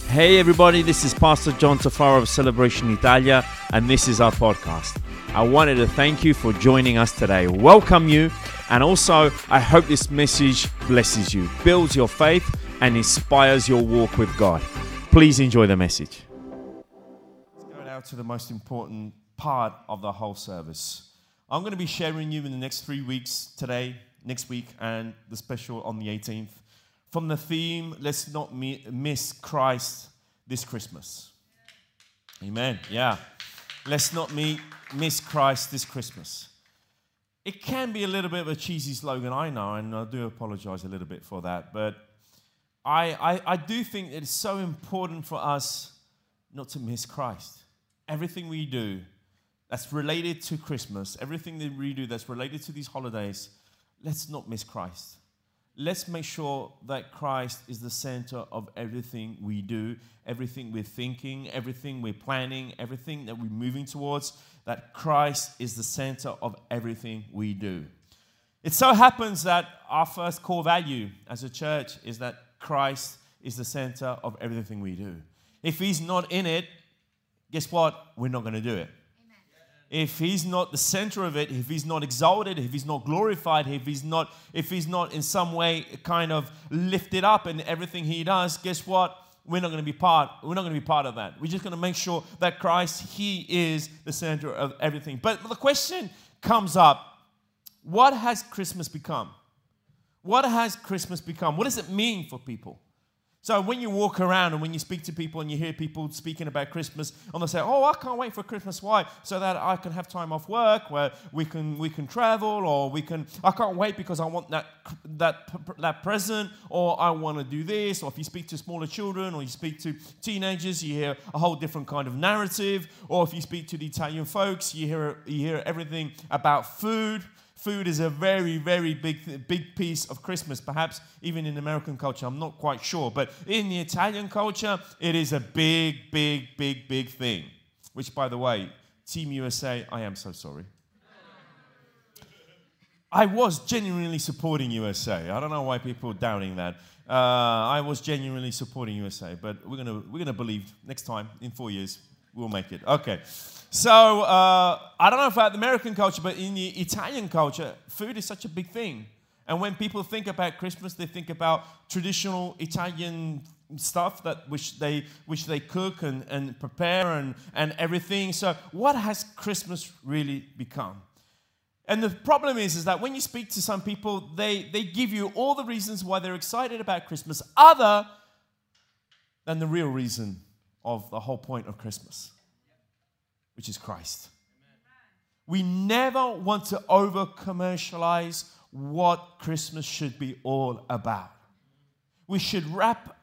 Hey everybody, this is Pastor John Tafaro of Celebration Italia, and this is our podcast. I wanted to thank you for joining us today, welcome you, and also I hope this message blesses you, builds your faith, and inspires your walk with God. Please enjoy the message. Let's go now to the most important part of the whole service. I'm going to be sharing you in the next 3 weeks, today, next week, and the special on the 18th, from the theme, let's not miss Christ this Christmas. Amen. Yeah. Let's not miss Christ this Christmas. It can be a little bit of a cheesy slogan, I know, and I do apologize a little bit for that. But I do think it is so important for us not to miss Christ. Everything we do that's related to Christmas, everything that we do that's related to these holidays, let's not miss Christ. Let's make sure that Christ is the center of everything we do, everything we're thinking, everything we're planning, everything that we're moving towards, that Christ is the center of everything we do. It so happens that our first core value as a church is that Christ is the center of everything we do. If He's not in it, guess what? We're not going to do it. If He's not the center of it, if He's not exalted, if He's not glorified, if He's not in some way kind of lifted up in everything He does, guess what? We're not going to be part of that. We're just going to make sure that Christ, He is the center of everything. But the question comes up, what has Christmas become? What has Christmas become? What does it mean for people? So when you walk around and when you speak to people and you hear people speaking about Christmas, and they say, "Oh, I can't wait for Christmas. Why? So that I can have time off work, where we can travel, or I can't wait because I want that present, or I want to do this." Or if you speak to smaller children or you speak to teenagers, you hear a whole different kind of narrative. Or if you speak to the Italian folks, you hear everything about food. Food is a very, very big piece of Christmas, perhaps even in American culture. I'm not quite sure. But in the Italian culture, it is a big thing. Which, by the way, Team USA, I am so sorry. I was genuinely supporting USA. I don't know why people are doubting that. I was genuinely supporting USA. But we're gonna believe next time, in 4 years, we'll make it. Okay. So, I don't know about the American culture, but in the Italian culture, food is such a big thing. And when people think about Christmas, they think about traditional Italian stuff which they cook and prepare and everything. So what has Christmas really become? And the problem is that when you speak to some people, they give you all the reasons why they're excited about Christmas other than the real reason of the whole point of Christmas, which is Christ. We never want to over-commercialize what Christmas should be all about. We should wrap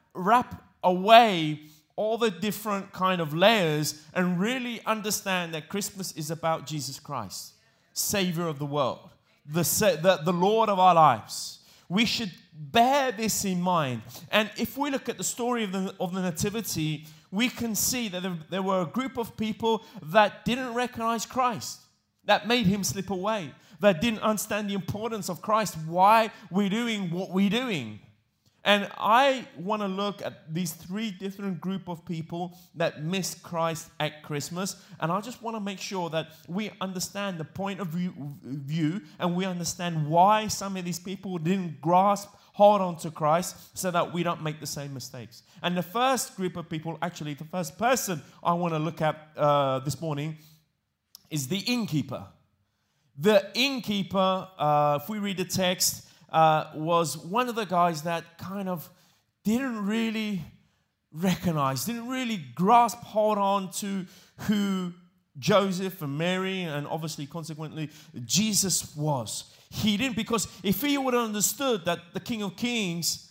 away all the different kind of layers and really understand that Christmas is about Jesus Christ, Savior of the world, the Lord of our lives. We should bear this in mind. And if we look at the story of the Nativity, we can see that there were a group of people that didn't recognize Christ, that made Him slip away, that didn't understand the importance of Christ, why we're doing what we're doing. And I want to look at these three different group of people that missed Christ at Christmas. And I just want to make sure that we understand the point of view and we understand why some of these people didn't hold on to Christ so that we don't make the same mistakes. And the first group of people, actually the first person I want to look at this morning is the innkeeper. The innkeeper, if we read the text, was one of the guys that kind of didn't really recognize, didn't really hold on to who Joseph and Mary and obviously consequently Jesus was. He didn't, because if he would have understood that the King of Kings,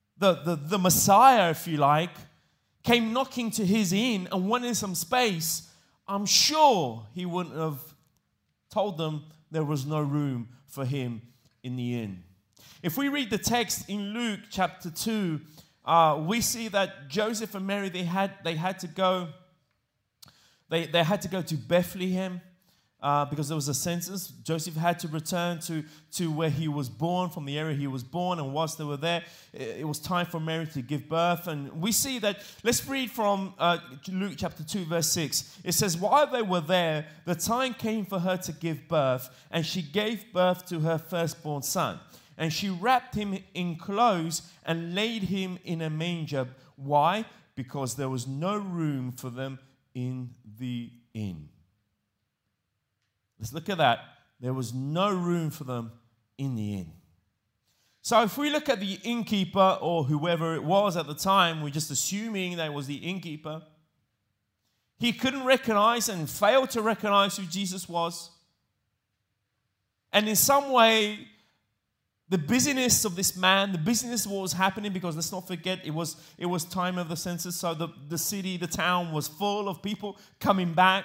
the Messiah, if you like, came knocking to his inn and wanted some space, I'm sure he wouldn't have told them there was no room for him in the inn. If we read the text in Luke chapter 2, we see that Joseph and Mary, they had to go to Bethlehem. because there was a census. Joseph had to return to where he was born, from the area he was born, and whilst they were there, it was time for Mary to give birth. And we see that, let's read from Luke chapter 2, verse 6. It says, while they were there, the time came for her to give birth, and she gave birth to her firstborn son. And she wrapped him in clothes and laid him in a manger. Why? Because there was no room for them in the inn. Let's look at that. There was no room for them in the inn. So if we look at the innkeeper or whoever it was at the time, we're just assuming that it was the innkeeper. He couldn't recognize and failed to recognize who Jesus was. And in some way, the busyness of this man, the busyness of what was happening, because let's not forget, it was time of the census, so the city, the town was full of people coming back.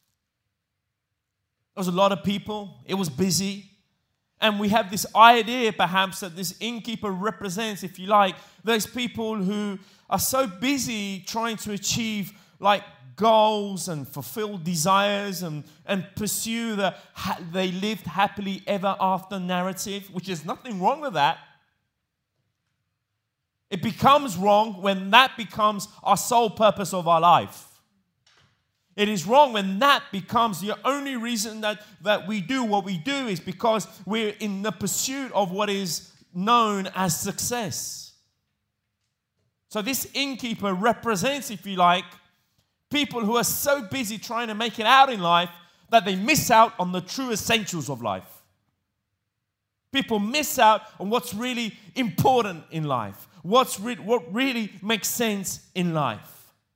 There was a lot of people. It was busy. And we have this idea, perhaps, that this innkeeper represents, if you like, those people who are so busy trying to achieve, like, goals and fulfill desires and pursue they lived happily ever after narrative, which is nothing wrong with that. It becomes wrong when that becomes our sole purpose of our life. It is wrong when that becomes the only reason that we do what we do, is because we're in the pursuit of what is known as success. So this innkeeper represents, if you like, people who are so busy trying to make it out in life that they miss out on the true essentials of life. People miss out on what's really important in life, what really makes sense in life.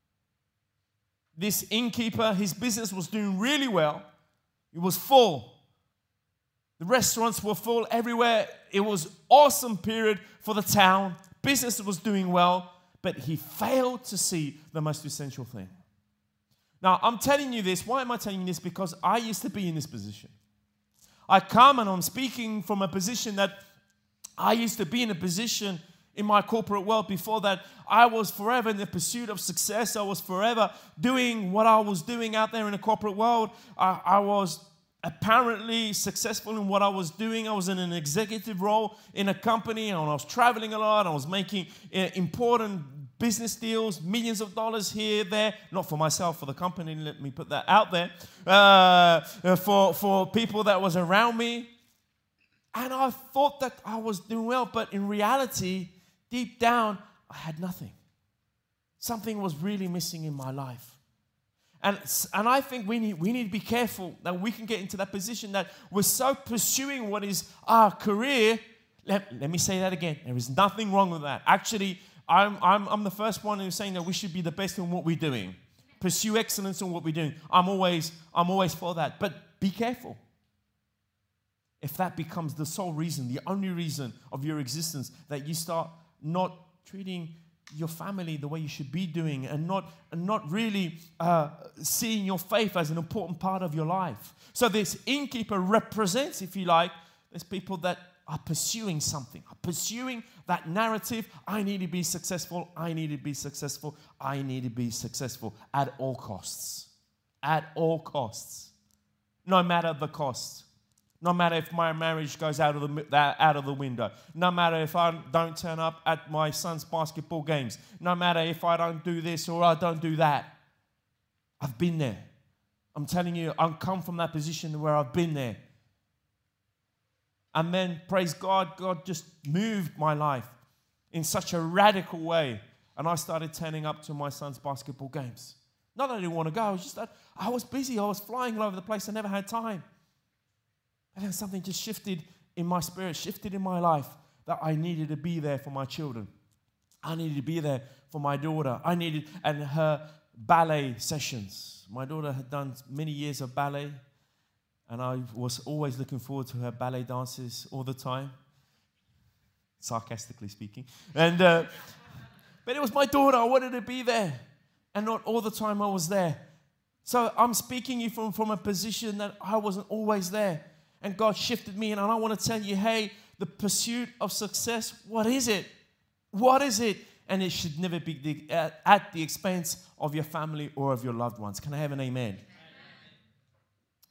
This innkeeper, his business was doing really well. It was full. The restaurants were full everywhere. It was an awesome period for the town. Business was doing well, but he failed to see the most essential thing. Now, I'm telling you this. Why am I telling you this? Because I used to be in this position. I come and I'm speaking from a position that I used to be in a position in my corporate world. Before that, I was forever in the pursuit of success. I was forever doing what I was doing out there in the corporate world. I was apparently successful in what I was doing. I was in an executive role in a company, and I was traveling a lot. I was making important business deals, millions of dollars here, there, not for myself, for the company, let me put that out there, for people that was around me. And I thought that I was doing well, but in reality, deep down, I had nothing. Something was really missing in my life. And I think we need to be careful that we can get into that position that we're so pursuing what is our career. Let me say that again. There is nothing wrong with that. Actually, I'm the first one who's saying that we should be the best in what we're doing. Pursue excellence in what we're doing. I'm always for that. But be careful. If that becomes the sole reason, the only reason of your existence, that you start not treating your family the way you should be doing, and not really seeing your faith as an important part of your life. So this innkeeper represents, if you like, there's people that are pursuing something, are pursuing that narrative. I need to be successful. I need to be successful. I need to be successful at all costs. At all costs. No matter the cost. No matter if my marriage goes out of the window. No matter if I don't turn up at my son's basketball games. No matter if I don't do this or I don't do that. I've been there. I'm telling you, I've come from that position where I've been there. And then, praise God, God just moved my life in such a radical way. And I started turning up to my son's basketball games. Not that I didn't want to go, it was just that I was busy. I was flying all over the place. I never had time. And then something just shifted in my spirit, shifted in my life, that I needed to be there for my children. I needed to be there for my daughter. And her ballet sessions. My daughter had done many years of ballet, and I was always looking forward to her ballet dances all the time, sarcastically speaking. And but it was my daughter. I wanted to be there, and not all the time I was there. So I'm speaking you from a position that I wasn't always there. And God shifted me, and I want to tell you, hey, the pursuit of success, what is it? What is it? And it should never be at the expense of your family or of your loved ones. Can I have an amen?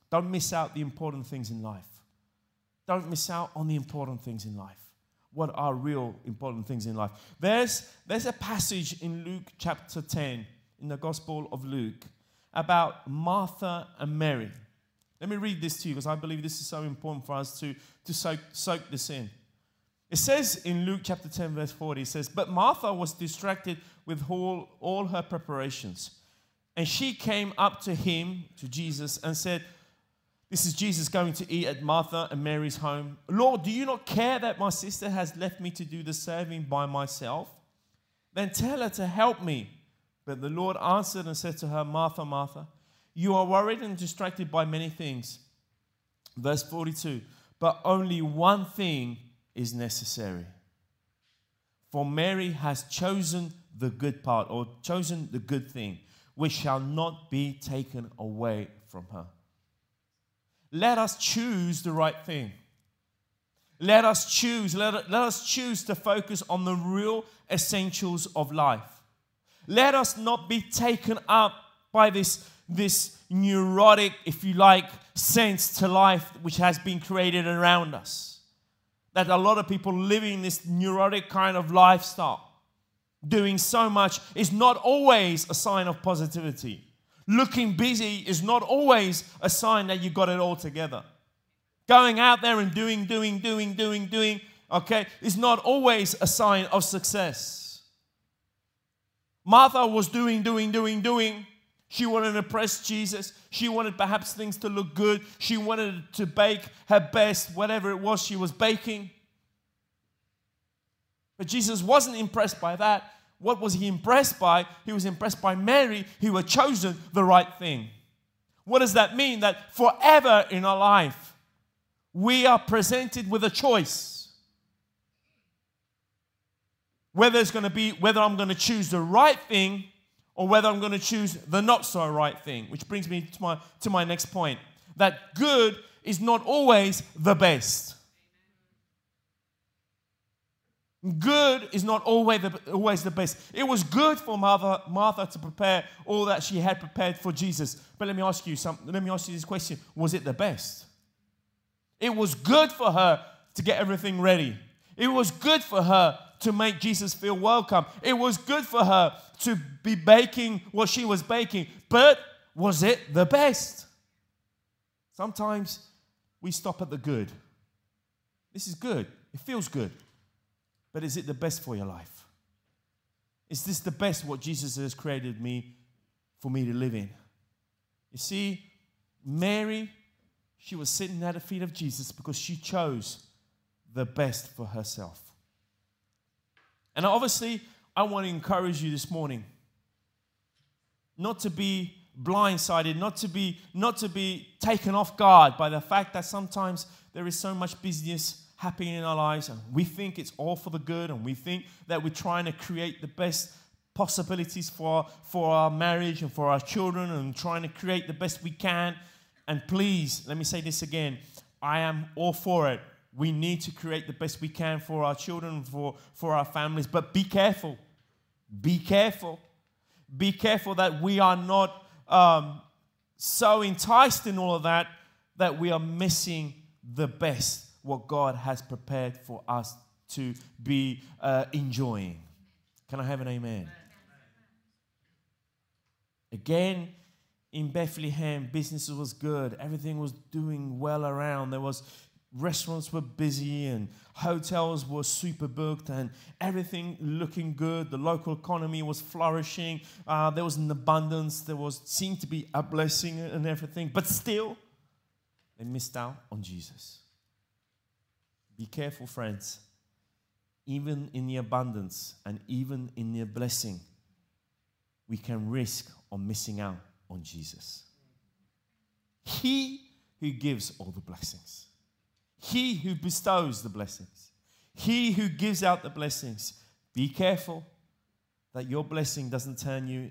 Don't miss out the important things in life. Don't miss out on the important things in life. What are real important things in life? There's a passage in Luke chapter 10, in the Gospel of Luke, about Martha and Mary. Let me read this to you because I believe this is so important for us to soak this in. It says in Luke chapter 10, verse 40, it says, "But Martha was distracted with all her preparations. And she came up to him, to Jesus, and said," this is Jesus going to eat at Martha and Mary's home, "Lord, do you not care that my sister has left me to do the serving by myself? Then tell her to help me." But the Lord answered and said to her, "Martha, Martha, you are worried and distracted by many things." Verse 42, "But only one thing is necessary. For Mary has chosen the good part," or chosen the good thing, "which shall not be taken away from her." Let us choose the right thing. Let us choose to focus on the real essentials of life. Let us not be taken up by this neurotic, if you like, sense to life which has been created around us. That a lot of people living this neurotic kind of lifestyle, doing so much, is not always a sign of positivity. Looking busy is not always a sign that you got it all together. Going out there and doing, okay, is not always a sign of success. Martha was doing. She wanted to impress Jesus. She wanted perhaps things to look good. She wanted to bake her best, whatever it was she was baking. But Jesus wasn't impressed by that. What was he impressed by? He was impressed by Mary, who had chosen the right thing. What does that mean? That forever in our life, we are presented with a choice. Whether I'm going to choose the right thing or whether I'm going to choose the not so right thing. Which brings me to my next point. That good is not always the best. Good is not always the best. It was good for Martha to prepare all that she had prepared for Jesus. But let me ask you this question. Was it the best? It was good for her to get everything ready. It was good for her to make Jesus feel welcome. It was good for her to be baking what she was baking. But was it the best? Sometimes we stop at the good. This is good. It feels good. But is it the best for your life? Is this the best what Jesus has created for me to live in? You see, Mary, she was sitting at the feet of Jesus because she chose the best for herself. And obviously, I want to encourage you this morning not to be blindsided, not to be taken off guard by the fact that sometimes there is so much business happening in our lives and we think it's all for the good and we think that we're trying to create the best possibilities for our marriage and for our children and trying to create the best we can. And please, let me say this again, I am all for it. We need to create the best we can for our children, for our families, but be careful. Be careful. Be careful that we are not so enticed in all of that we are missing the best, what God has prepared for us to be enjoying. Can I have an amen? Again, in Bethlehem, business was good. Everything was doing well around. Restaurants were busy and hotels were super booked and everything looking good. The local economy was flourishing. There was an abundance. Seemed to be a blessing and everything. But still, they missed out on Jesus. Be careful, friends. Even in the abundance and even in the blessing, we can risk on missing out on Jesus. He who gives all the blessings. He who bestows the blessings. He who gives out the blessings. Be careful that your blessing doesn't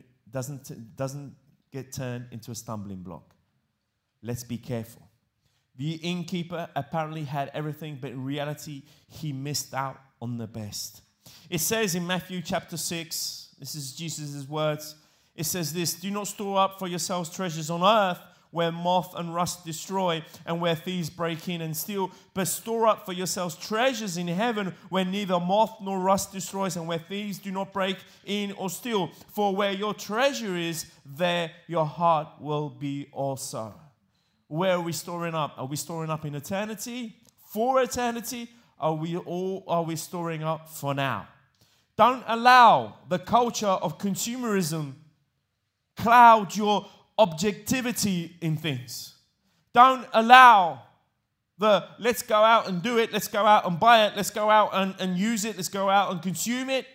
get turned into a stumbling block. Let's be careful. The innkeeper apparently had everything, but in reality, he missed out on the best. It says in Matthew chapter 6, this is Jesus' words, it says this, "Do not store up for yourselves treasures on earth where moth and rust destroy and where thieves break in and steal. But store up for yourselves treasures in heaven where neither moth nor rust destroys and where thieves do not break in or steal. For where your treasure is, there your heart will be also. Where are we storing up? Are we storing up in eternity? For eternity? Are we storing up for now? Don't allow the culture of consumerism cloud your objectivity in things. Don't allow the let's go out and do it, let's go out and buy it, let's go out and use it, let's go out and consume it.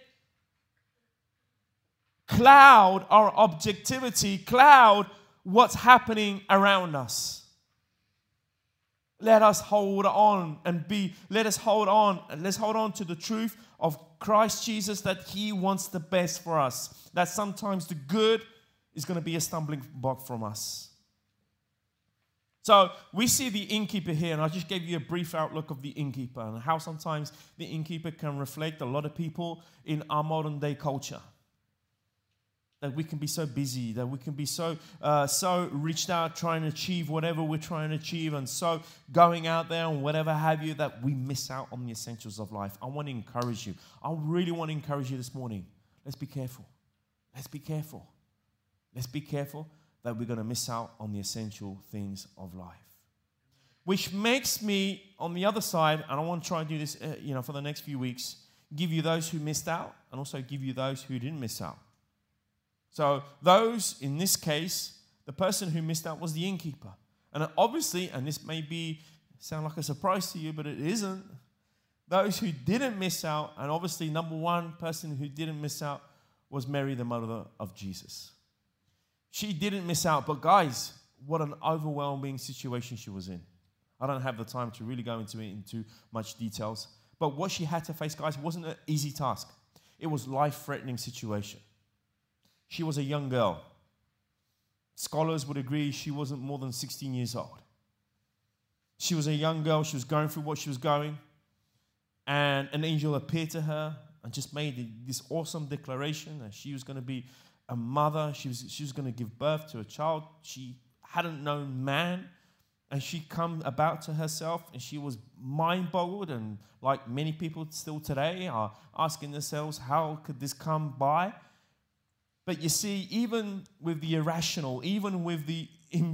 Cloud our objectivity, cloud what's happening around us. Let us hold on let's hold on to the truth of Christ Jesus, that He wants the best for us. That sometimes the good is going to be a stumbling block from us. So we see the innkeeper here, and I just gave you a brief outlook of the innkeeper and how sometimes the innkeeper can reflect a lot of people in our modern day culture. That we can be so busy, that we can be so reached out trying to achieve whatever we're trying to achieve, and so going out there and whatever have you, that we miss out on the essentials of life. I want to encourage you. I really want to encourage you this morning. Let's be careful. Let's be careful. Let's be careful that we're going to miss out on the essential things of life. Which makes me, on the other side, and I want to try and do this for the next few weeks, give you those who missed out and also give you those who didn't miss out. So those, in this case, the person who missed out was the innkeeper. And obviously, and this may sound like a surprise to you, but it isn't. Those who didn't miss out, and obviously number one person who didn't miss out was Mary, the mother of Jesus. She didn't miss out, but guys, what an overwhelming situation she was in. I don't have the time to really go into much details, but what she had to face, guys, wasn't an easy task. It was a life-threatening situation. She was a young girl. Scholars would agree she wasn't more than 16 years old. She was a young girl. She was going through what she was going. And an angel appeared to her and just made this awesome declaration that she was going to be a mother. She was going to give birth to a child. She hadn't known man. And she come about to herself and she was mind-boggled. And like many people still today are asking themselves, how could this come by? But you see, even with the irrational, even with the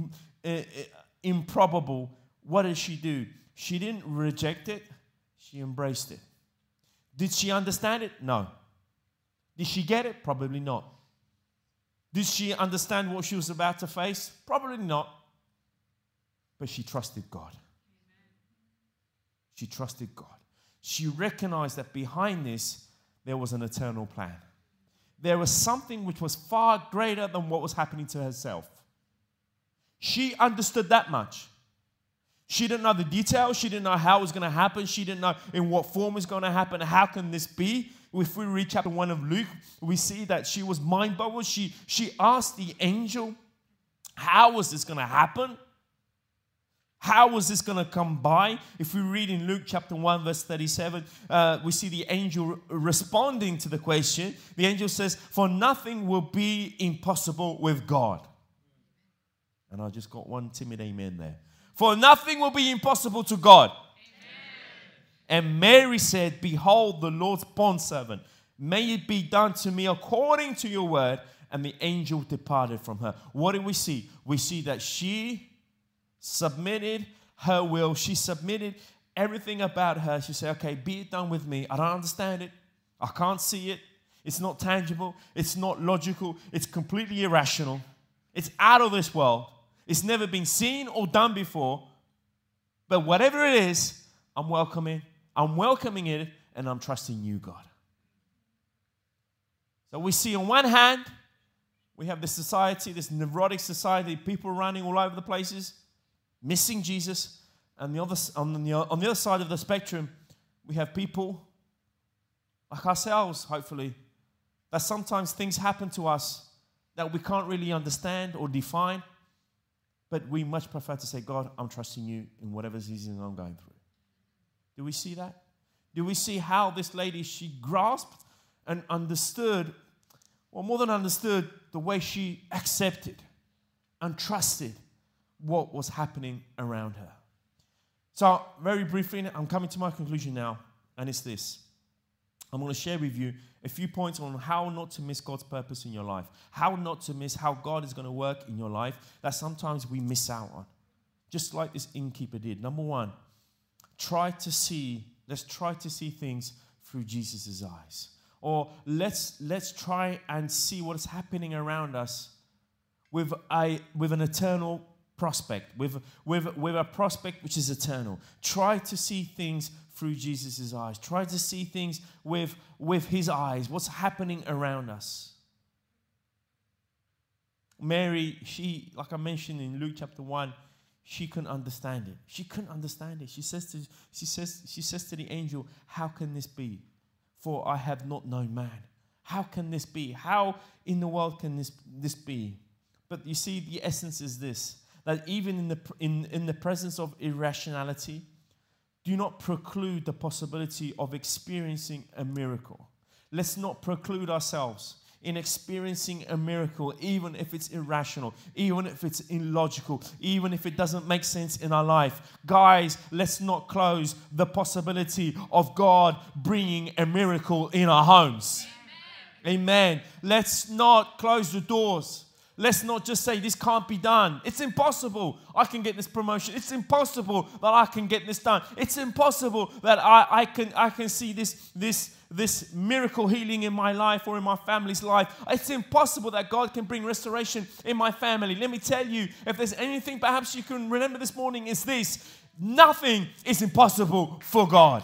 improbable, what did she do? She didn't reject it. She embraced it. Did she understand it? No. Did she get it? Probably not. Did she understand what she was about to face? Probably not. But she trusted God. She trusted God. She recognized that behind this, there was an eternal plan. There was something which was far greater than what was happening to herself. She understood that much. She didn't know the details. She didn't know how it was going to happen. She didn't know in what form it's going to happen. How can this be? If we read chapter 1 of Luke, we see that she was mind-boggled. She asked the angel, how was this going to happen? How was this going to come by? If we read in Luke chapter 1, verse 37, we see the angel responding to the question. The angel says, for nothing will be impossible with God. And I just got one timid amen there. For nothing will be impossible to God. Amen. And Mary said, behold, the Lord's bondservant. May it be done to me according to your word. And the angel departed from her. What do we see? We see that she submitted her will. She submitted everything about her. She said, okay, be it done with me. I don't understand it. I can't see it. It's not tangible. It's not logical. It's completely irrational. It's out of this world. It's never been seen or done before. But whatever it is, I'm welcoming it, and I'm trusting you, God. So we see on one hand, we have this society, this neurotic society, people running all over the places, missing Jesus. And on the other side of the spectrum, we have people like ourselves, hopefully, that sometimes things happen to us that we can't really understand or define, but we much prefer to say, God, I'm trusting you in whatever season I'm going through. Do we see that? Do we see how this lady, she grasped and understood, or more than understood, the way she accepted and trusted what was happening around her. So very briefly, I'm coming to my conclusion now, and it's this. I'm going to share with you a few points on how not to miss God's purpose in your life, how not to miss how God is going to work in your life that sometimes we miss out on, just like this innkeeper did. Number one, let's try to see things through Jesus' eyes. Or let's try and see what is happening around us with an eternal prospect, with a prospect which is eternal. Try to see things through Jesus' eyes. Try to see things with his eyes, what's happening around us. Mary, like I mentioned in Luke chapter 1, she couldn't understand it. She couldn't understand it. She says to the angel, "How can this be? For I have not known man." How can this be? How in the world can this be? But you see, the essence is this, that even in the presence of irrationality, do not preclude the possibility of experiencing a miracle. Let's not preclude ourselves in experiencing a miracle, even if it's irrational, even if it's illogical, even if it doesn't make sense in our life. Guys, let's not close the possibility of God bringing a miracle in our homes. Amen. Let's not close the doors. Let's not just say this can't be done. It's impossible I can get this promotion. It's impossible that I can get this done. It's impossible that I can see this miracle healing in my life or in my family's life. It's impossible that God can bring restoration in my family. Let me tell you, if there's anything perhaps you can remember this morning, is this: nothing is impossible for God.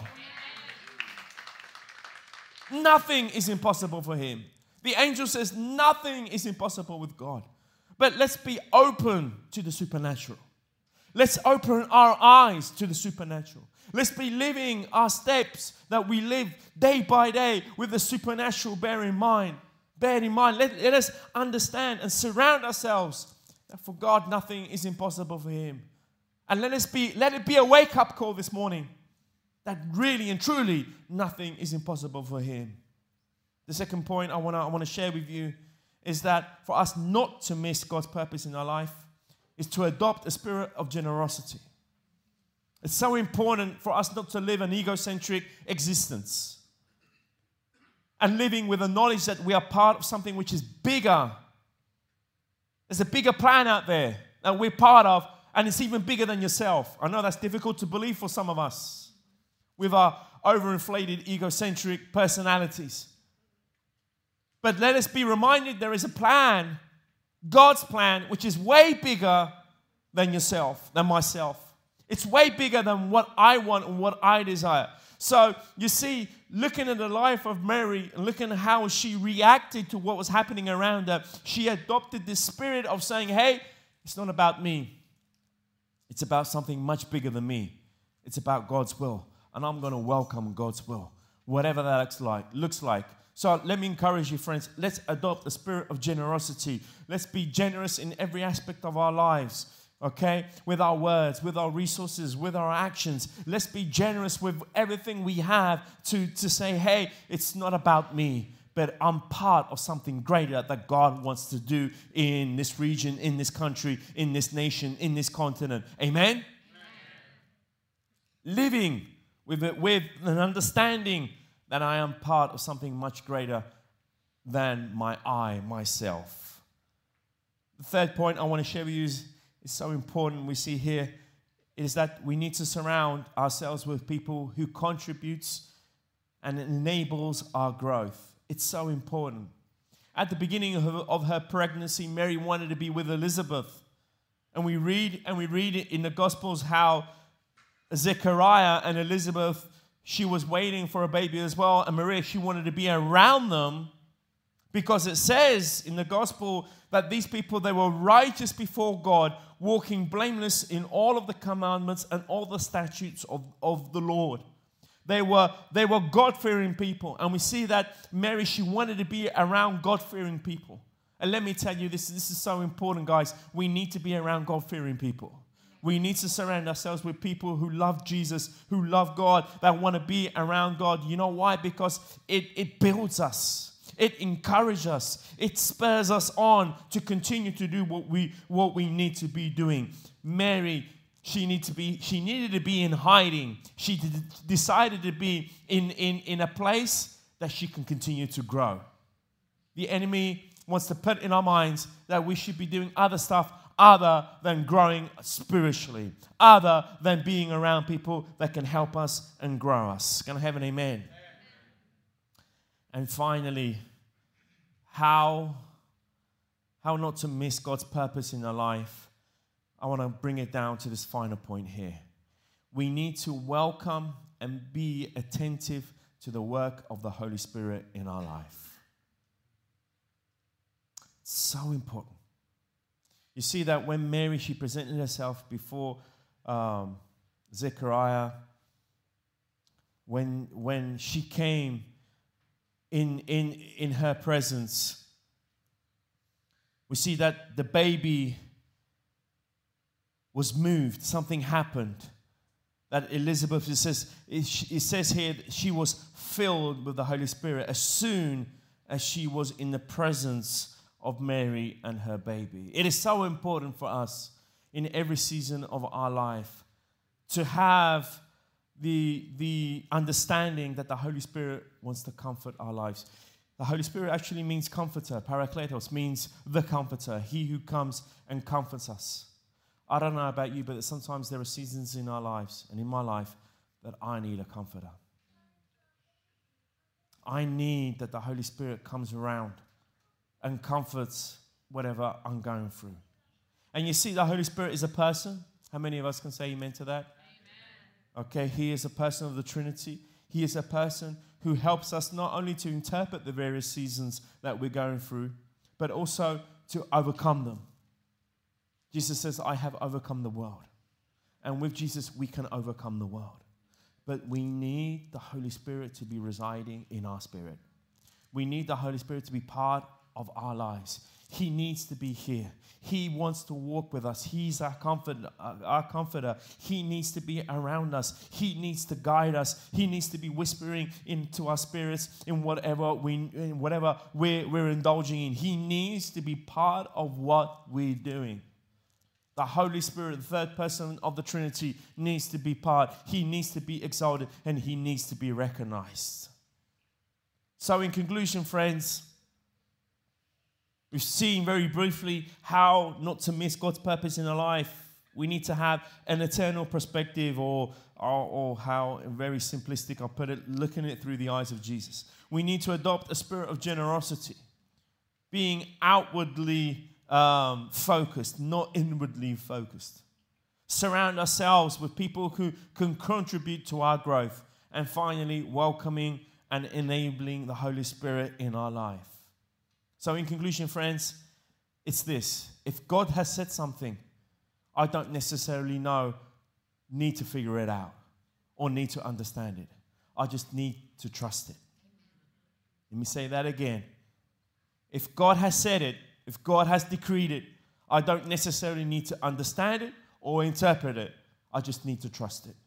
Nothing is impossible for him. The angel says nothing is impossible with God. But let's be open to the supernatural. Let's open our eyes to the supernatural. Let's be living our steps that we live day by day with the supernatural bear in mind. Let us understand and surround ourselves that for God nothing is impossible for him. And let it be a wake-up call this morning that really and truly nothing is impossible for him. The second point I want to share with you is that for us not to miss God's purpose in our life is to adopt a spirit of generosity. It's so important for us not to live an egocentric existence and living with the knowledge that we are part of something which is bigger. There's a bigger plan out there that we're part of, and it's even bigger than yourself. I know that's difficult to believe for some of us with our overinflated egocentric personalities. But let us be reminded there is a plan, God's plan, which is way bigger than yourself, than myself. It's way bigger than what I want and what I desire. So you see, looking at the life of Mary and looking at how she reacted to what was happening around her, she adopted this spirit of saying, hey, it's not about me. It's about something much bigger than me. It's about God's will. And I'm going to welcome God's will, whatever that looks like. So let me encourage you, friends. Let's adopt a spirit of generosity. Let's be generous in every aspect of our lives, okay? With our words, with our resources, with our actions. Let's be generous with everything we have to say, hey, it's not about me, but I'm part of something greater that God wants to do in this region, in this country, in this nation, in this continent. Amen? Amen. Living with an understanding that I am part of something much greater than myself. The third point I want to share with you is so important we see here, is that we need to surround ourselves with people who contributes and enables our growth. It's so important. At the beginning of her pregnancy, Mary wanted to be with Elizabeth. And we read it in the Gospels how Zechariah and Elizabeth, she was waiting for a baby as well. And Maria, she wanted to be around them because it says in the gospel that these people, they were righteous before God, walking blameless in all of the commandments and all the statutes of the Lord. They were God-fearing people. And we see that Mary, she wanted to be around God-fearing people. And let me tell you, this is so important, guys. We need to be around God-fearing people. We need to surround ourselves with people who love Jesus, who love God, that want to be around God. You know why? Because it builds us. It encourages us. It spurs us on to continue to do what we need to be doing. Mary, she needed to be in hiding. She decided to be in a place that she can continue to grow. The enemy wants to put in our minds that we should be doing other stuff other than growing spiritually, other than being around people that can help us and grow us. Can I have an amen? And finally, how not to miss God's purpose in our life. I want to bring it down to this final point here. We need to welcome and be attentive to the work of the Holy Spirit in our life. It's so important. You see that when Mary, she presented herself before Zechariah, when she came in her presence, we see that the baby was moved. Something happened. That Elizabeth, it says here that she was filled with the Holy Spirit as soon as she was in the presence of Mary and her baby. It is so important for us in every season of our life to have the understanding that the Holy Spirit wants to comfort our lives. The Holy Spirit actually means comforter. Parakletos means the comforter, he who comes and comforts us. I don't know about you, but sometimes there are seasons in our lives and in my life that I need a comforter. I need that the Holy Spirit comes around and comforts whatever I'm going through. And you see, the Holy Spirit is a person. How many of us can say amen to that? Amen. Okay, he is a person of the Trinity. He is a person who helps us not only to interpret the various seasons that we're going through, but also to overcome them. Jesus says, I have overcome the world. And with Jesus, we can overcome the world. But we need the Holy Spirit to be residing in our spirit. We need the Holy Spirit to be part of our lives. He needs to be here. He wants to walk with us. He's our comforter. He needs to be around us. He needs to guide us. He needs to be whispering into our spirits in whatever we're indulging in. He needs to be part of what we're doing. The Holy Spirit, the third person of the Trinity, needs to be part. He needs to be exalted and he needs to be recognized. So in conclusion, friends, we've seen very briefly how not to miss God's purpose in our life. We need to have an eternal perspective, or how very simplistic I'll put it, looking at it through the eyes of Jesus. We need to adopt a spirit of generosity, being outwardly focused, not inwardly focused. Surround ourselves with people who can contribute to our growth. And finally, welcoming and enabling the Holy Spirit in our life. So in conclusion, friends, it's this. If God has said something, I don't necessarily need to figure it out or need to understand it. I just need to trust it. Let me say that again. If God has said it, if God has decreed it, I don't necessarily need to understand it or interpret it. I just need to trust it.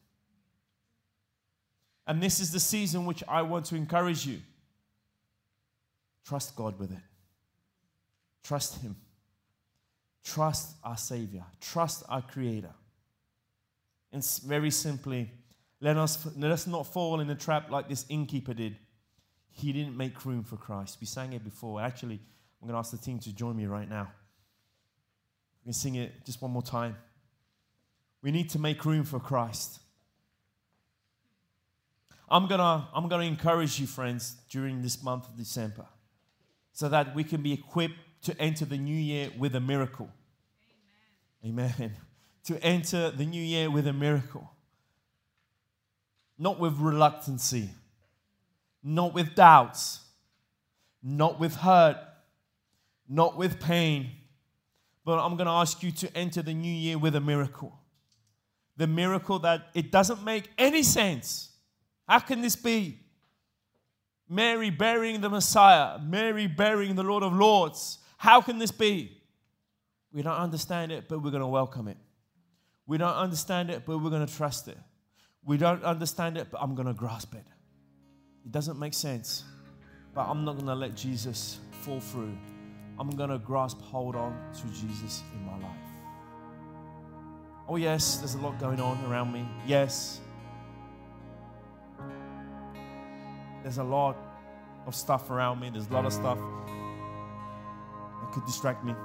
And this is the season which I want to encourage you. Trust God with it. Trust Him. Trust our Savior. Trust our Creator. And very simply, let us not fall in the trap like this innkeeper did. He didn't make room for Christ. We sang it before. Actually, I'm going to ask the team to join me right now. We can sing it just one more time. We need to make room for Christ. I'm gonna encourage you, friends, during this month of December, so that we can be equipped to enter the new year with a miracle. Amen. Amen. To enter the new year with a miracle. Not with reluctancy, not with doubts, not with hurt, not with pain, but I'm going to ask you to enter the new year with a miracle. The miracle that it doesn't make any sense. How can this be? Mary bearing the Messiah, Mary bearing the Lord of Lords. How can this be? We don't understand it, but we're going to welcome it. We don't understand it, but we're going to trust it. We don't understand it, but I'm going to grasp it. It doesn't make sense. but I'm not going to let Jesus fall through. I'm going to grasp hold on to Jesus in my life. Oh yes, there's a lot going on around me. Yes. There's a lot of stuff around me. There's a lot of stuff that could distract me.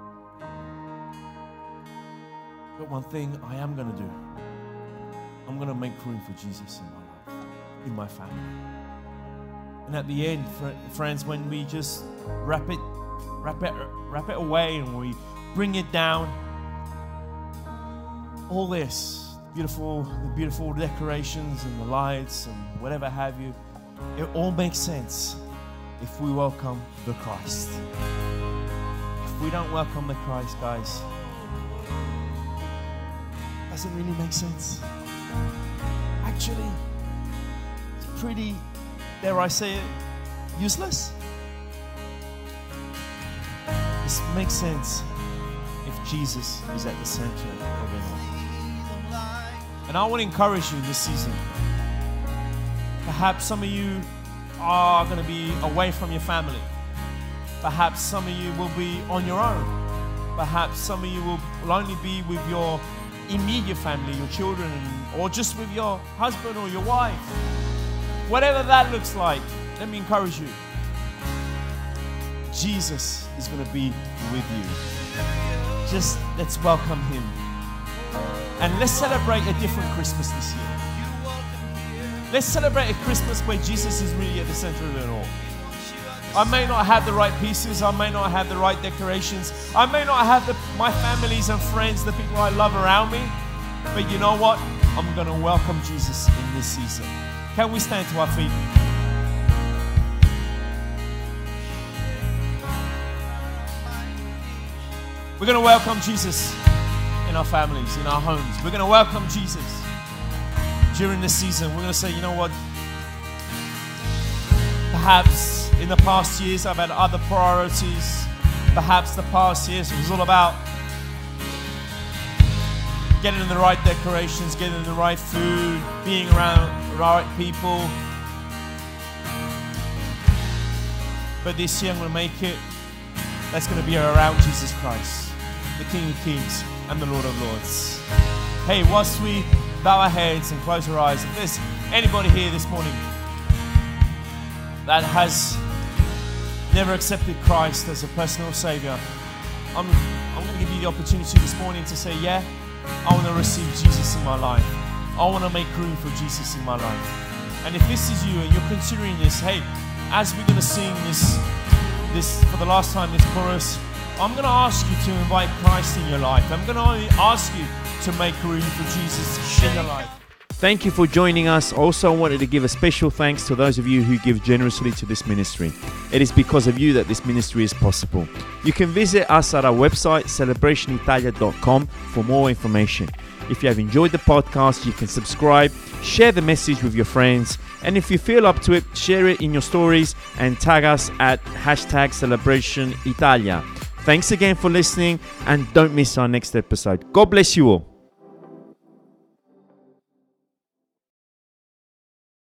But one thing I am going to do, I'm going to make room for Jesus in my life, in my family. And at the end, friends, when we just wrap it away and we bring it down, all this, the beautiful decorations and the lights and whatever have you, it all makes sense if we welcome the Christ. If we don't welcome the Christ, guys, it doesn't really make sense. Actually, it's pretty, dare I say it, useless. This makes sense if Jesus is at the center of it all. And I want to encourage you in this season. Perhaps some of you are going to be away from your family. Perhaps some of you will be on your own. Perhaps some of you will only be with your immediate family, your children, or just with your husband or your wife. Whatever that looks like, let me encourage you. Jesus is going to be with you. Just let's welcome him. And let's celebrate a different Christmas this year. Let's celebrate a Christmas where Jesus is really at the center of it all. I may not have the right pieces. I may not have the right decorations. I may not have my families and friends, the people I love around me. But you know what? I'm going to welcome Jesus in this season. Can we stand to our feet? We're going to welcome Jesus in our families, in our homes. We're going to welcome Jesus during this season. We're going to say, you know what? Perhaps in the past years I've had other priorities. Perhaps the past years it was all about getting the right decorations, getting the right food, being around the right people. But this year I'm going to make it that's going to be around Jesus Christ, the King of Kings and the Lord of Lords. Hey, whilst we bow our heads and close our eyes, if there's anybody here this morning that has never accepted Christ as a personal Savior, I'm going to give you the opportunity this morning to say, yeah, I want to receive Jesus in my life. I want to make room for Jesus in my life. And if this is you and you're considering this, hey, as we're going to sing this for the last time, this chorus, I'm going to ask you to invite Christ in your life. I'm going to ask you to make room for Jesus in your life. Thank you for joining us. Also, I wanted to give a special thanks to those of you who give generously to this ministry. It is because of you that this ministry is possible. You can visit us at our website, celebrationitalia.com, for more information. If you have enjoyed the podcast, you can subscribe, share the message with your friends, and if you feel up to it, share it in your stories and tag us at #CelebrationItalia. Thanks again for listening, and don't miss our next episode. God bless you all.